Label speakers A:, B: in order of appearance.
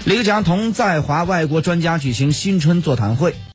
A: 李克强同在华外国专家举行新春座谈会。